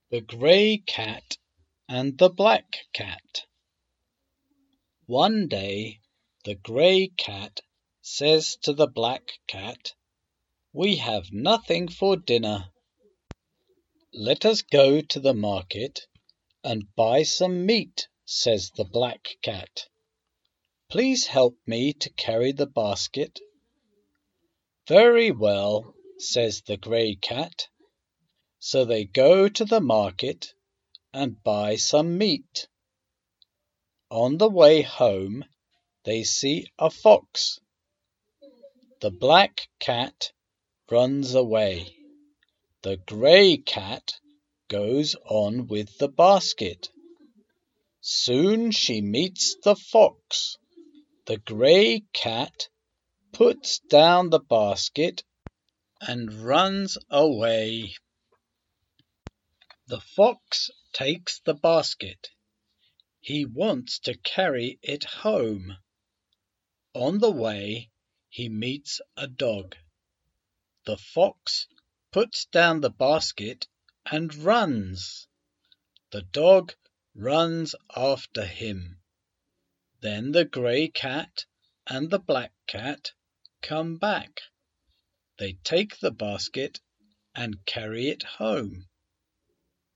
The Grey Cat and the Black Cat. One day the Grey Cat says to the Black Cat, "We have nothing for dinner. Let us go to the market and buy some meat," says the Black Cat. "Please help me to carry the basket." "Very well," says the Grey Cat. So they go to the market and buy some meat. On the way home they see a fox. The Black Cat runs away. The Grey Cat goes on with the basket. Soon she meets the fox. The Grey Cat puts down the basket and runs away. The fox takes the basket. He wants to carry it home. On the way he meets a dog. The fox puts down the basket and runs. The dog runs after him. Then the Grey Cat and the Black Cat come back. They take the basket and carry it home.